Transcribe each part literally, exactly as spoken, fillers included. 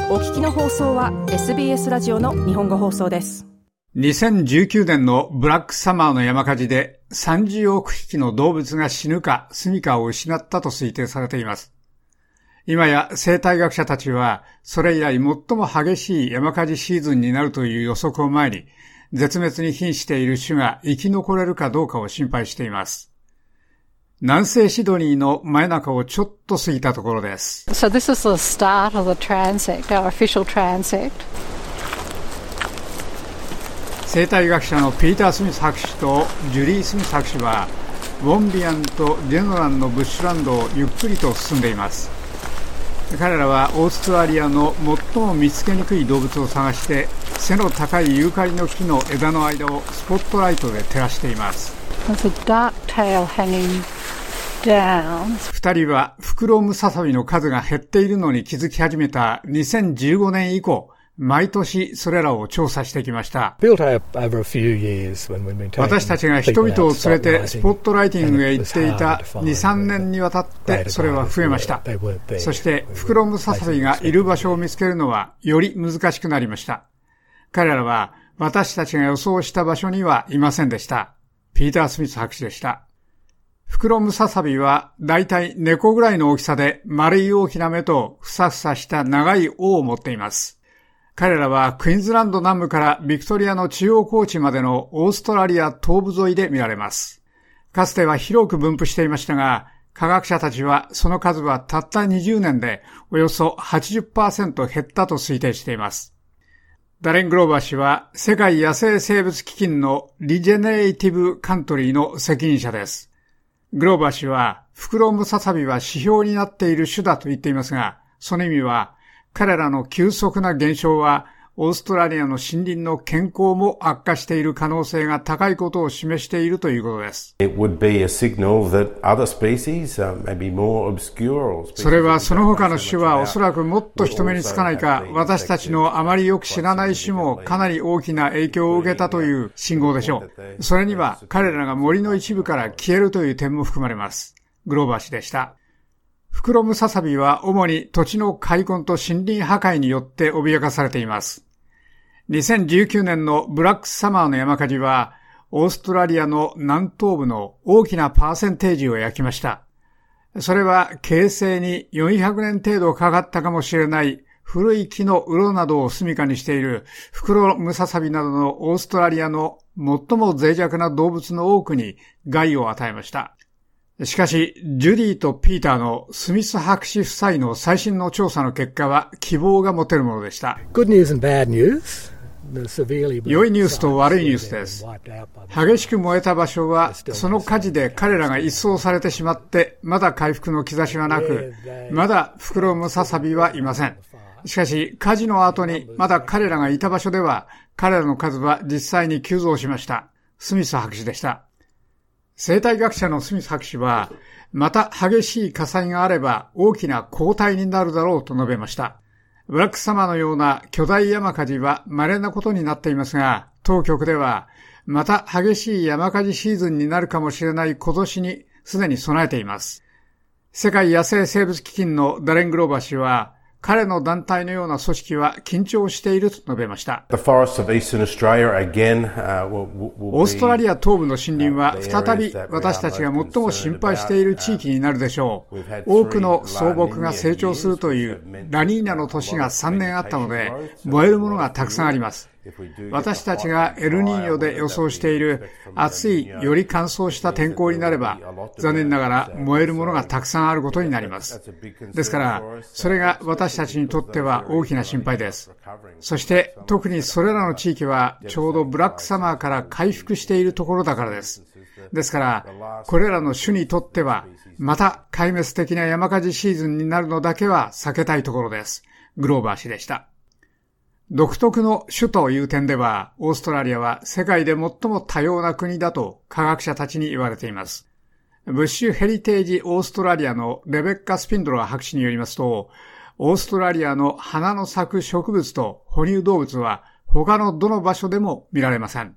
お聞きの放送は エスビーエス ラジオの日本語放送です。 にせんじゅうきゅうねんのブラックサマーの山火事でさんじゅうおくひきの動物が死ぬか住処を失ったと推定されています。今や生態学者たちはそれ以来最も激しい山火事シーズンになるという予測を前に、絶滅に瀕している種が生き残れるかどうかを心配しています。南西シドニーの真夜中をちょっと過ぎたところです。 So this is the start of the transect, our official transect. 生態学者のピーター・スミス博士とジュリー・スミス博士はウォンビアンとジェノランのブッシュランドをゆっくりと進んでいます。彼らはオーストラリアの最も見つけにくい動物を探して背の高いユーカリの木の枝の間をスポットライトで照らしています。 There's a dark tail hanging down. 二人はフクロムササビの数が減っているのに気づき始めたにせんじゅうごねん以降、毎年それらを調査してきました。私たちが人々を連れてスポットライティングへ行っていたに、さんねんにわたってそれは増えました。そしてフクロムササビがいる場所を見つけるのはより難しくなりました。彼らは私たちが予想した場所にはいませんでした。ピーター・スミス博士でした。フクロムササビはだいたい猫ぐらいの大きさで丸い大きな目とふさふさした長い尾を持っています。彼らはクイーンズランド南部からビクトリアの中央高地までのオーストラリア東部沿いで見られます。かつては広く分布していましたが、科学者たちはその数はたったにじゅうねんでおよそ はちじゅっパーセント 減ったと推定しています。ダレン・グローバー氏は世界野生生物基金のリジェネレイティブカントリーの責任者です。グローバー氏はフクロムササビは指標になっている種だと言っていますが、その意味は彼らの急速な減少はオーストラリアの森林の健康も悪化している可能性が高いことを示しているということです。それはその他の種はおそらくもっと人目につかないか、私たちのあまりよく知らない種もかなり大きな影響を受けたという信号でしょう。それには彼らが森の一部から消えるという点も含まれます。グローバー氏でした。フクロムササビは主に土地の開墾と森林破壊によって脅かされています。にせんじゅうきゅうねんのブラックサマーの山火事はオーストラリアの南東部の大きなパーセンテージを焼きました。それは形成によんひゃくねん程度かかったかもしれない古い木の洞などを住処にしているフクロムササビなどのオーストラリアの最も脆弱な動物の多くに害を与えました。しかし、ジュディとピーターのスミス博士夫妻の最新の調査の結果は希望が持てるものでした。 Good news and bad news. 良いニュースと悪いニュースです。激しく燃えた場所はその火事で彼らが一掃されてしまってまだ回復の兆しはなく、まだフクロムササビはいません。しかし火事の後にまだ彼らがいた場所では彼らの数は実際に急増しました。スミス博士でした。生態学者のスミス博士はまた激しい火災があれば大きな洪体になるだろうと述べました。ブラックサマーのような巨大山火事は稀なことになっていますが、当局ではまた激しい山火事シーズンになるかもしれない今年にすでに備えています。世界野生生物基金のダレン・グローバー氏は彼の団体のような組織は緊張していると述べました。オーストラリア東部の森林は再び私たちが最も心配している地域になるでしょう。多くの草木が成長するというラニーニャの年がさんねんあったので、燃えるものがたくさんあります。私たちがエルニーニョで予想している暑い、より乾燥した天候になれば、残念ながら燃えるものがたくさんあることになります。ですから、それが私たちにとっては大きな心配です。そして特にそれらの地域はちょうどブラックサマーから回復しているところだからです。ですから、これらの種にとっては、また壊滅的な山火事シーズンになるのだけは避けたいところです。グローバー氏でした。独特の種という点では、オーストラリアは世界で最も多様な国だと科学者たちに言われています。ブッシュヘリテージオーストラリアのレベッカ・スピンドラー博士によりますと、オーストラリアの花の咲く植物と哺乳動物は他のどの場所でも見られません。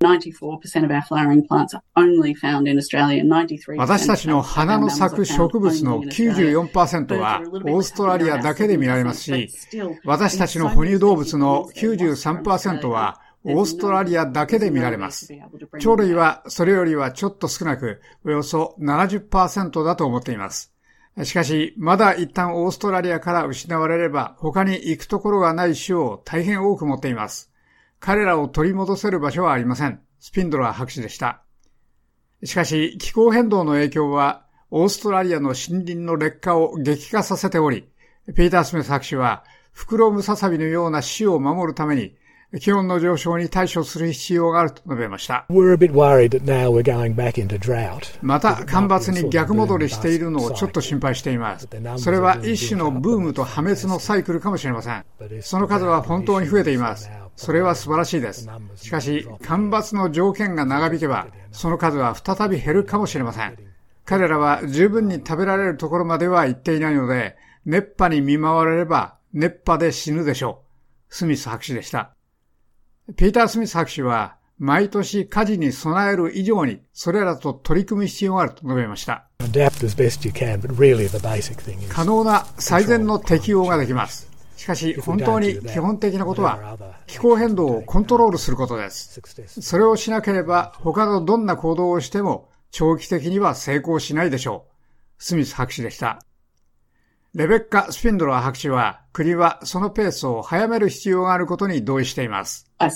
私たちの花の咲く植物の きゅうじゅうよんパーセント はオーストラリアだけで見られますし、私たちの哺乳動物の きゅうじゅうさんパーセント はオーストラリアだけで見られます。鳥類はそれよりはちょっと少なく、およそ ななじゅっパーセント だと思っています。しかし、まだ一旦オーストラリアから失われれば、他に行くところがない種を大変多く持っています。彼らを取り戻せる場所はありません。スピンドラー博士でした。しかし、気候変動の影響は、オーストラリアの森林の劣化を激化させており、ピーター・スミス博士は、フクロムササビのような種を守るために、気温の上昇に対処する必要があると述べました。また干ばつに逆戻りしているのをちょっと心配しています。それは一種のブームと破滅のサイクルかもしれません。その数は本当に増えています。それは素晴らしいです。しかし干ばつの条件が長引けばその数は再び減るかもしれません。彼らは十分に食べられるところまでは行っていないので、熱波に見舞われれば熱波で死ぬでしょう。スミス博士でした。ピーター・スミス博士は、毎年火事に備える以上に、それらと取り組む必要があると述べました。可能な最善の適応ができます。しかし、本当に基本的なことは、気候変動をコントロールすることです。それをしなければ、他のどんな行動をしても、長期的には成功しないでしょう。スミス博士でした。レベッカ・スピンドラー博士は、国はそのペースを早める必要があることに同意しています。多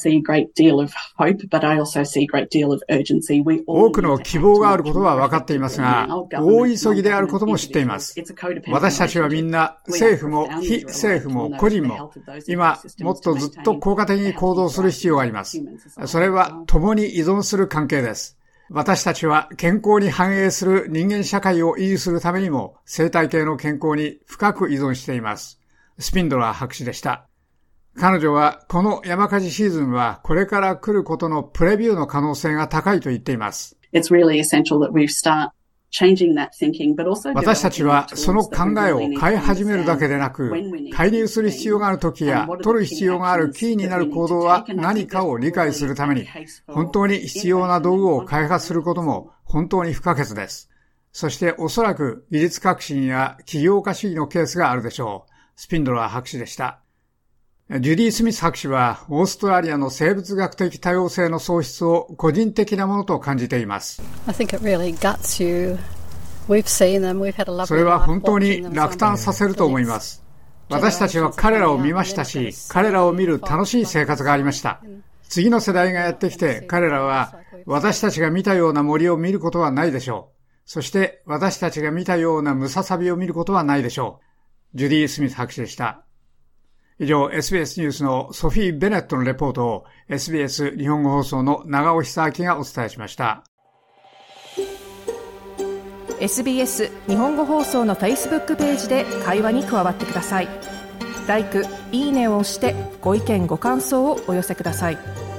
くの希望があることは分かっていますが、大急ぎであることも知っています。私たちはみんな、政府も非政府も個人も、今、もっとずっと効果的に行動する必要があります。それは共に依存する関係です。私たちは健康に反映する人間社会を維持するためにも生態系の健康に深く依存しています。スピンドラー博士でした。彼女はこの山火事シーズンはこれから来ることのプレビューの可能性が高いと言っています。It's really essential that we start私たちはその考えを変え始めるだけでなく、介入する必要があるときや取る必要があるキーになる行動は何かを理解するために、本当に必要な道具を開発することも本当に不可欠です。そしておそらく技術革新や起業家主義のケースがあるでしょう。スピンドラー博士でした。ジュディ・スミス博士はオーストラリアの生物学的多様性の喪失を個人的なものと感じています。それは本当に落胆させると思います。私たちは彼らを見ましたし、彼らを見る楽しい生活がありました。次の世代がやってきて、彼らは私たちが見たような森を見ることはないでしょう。そして私たちが見たようなムササビを見ることはないでしょう。ジュディ・スミス博士でした。以上 エスビーエス ニュースのソフィー・ベネットのレポートを エスビーエス 日本語放送の長尾久明がお伝えしました。 エスビーエス 日本語放送の Facebook ページで会話に加わってください。ライク、いいねを押してご意見ご感想をお寄せください。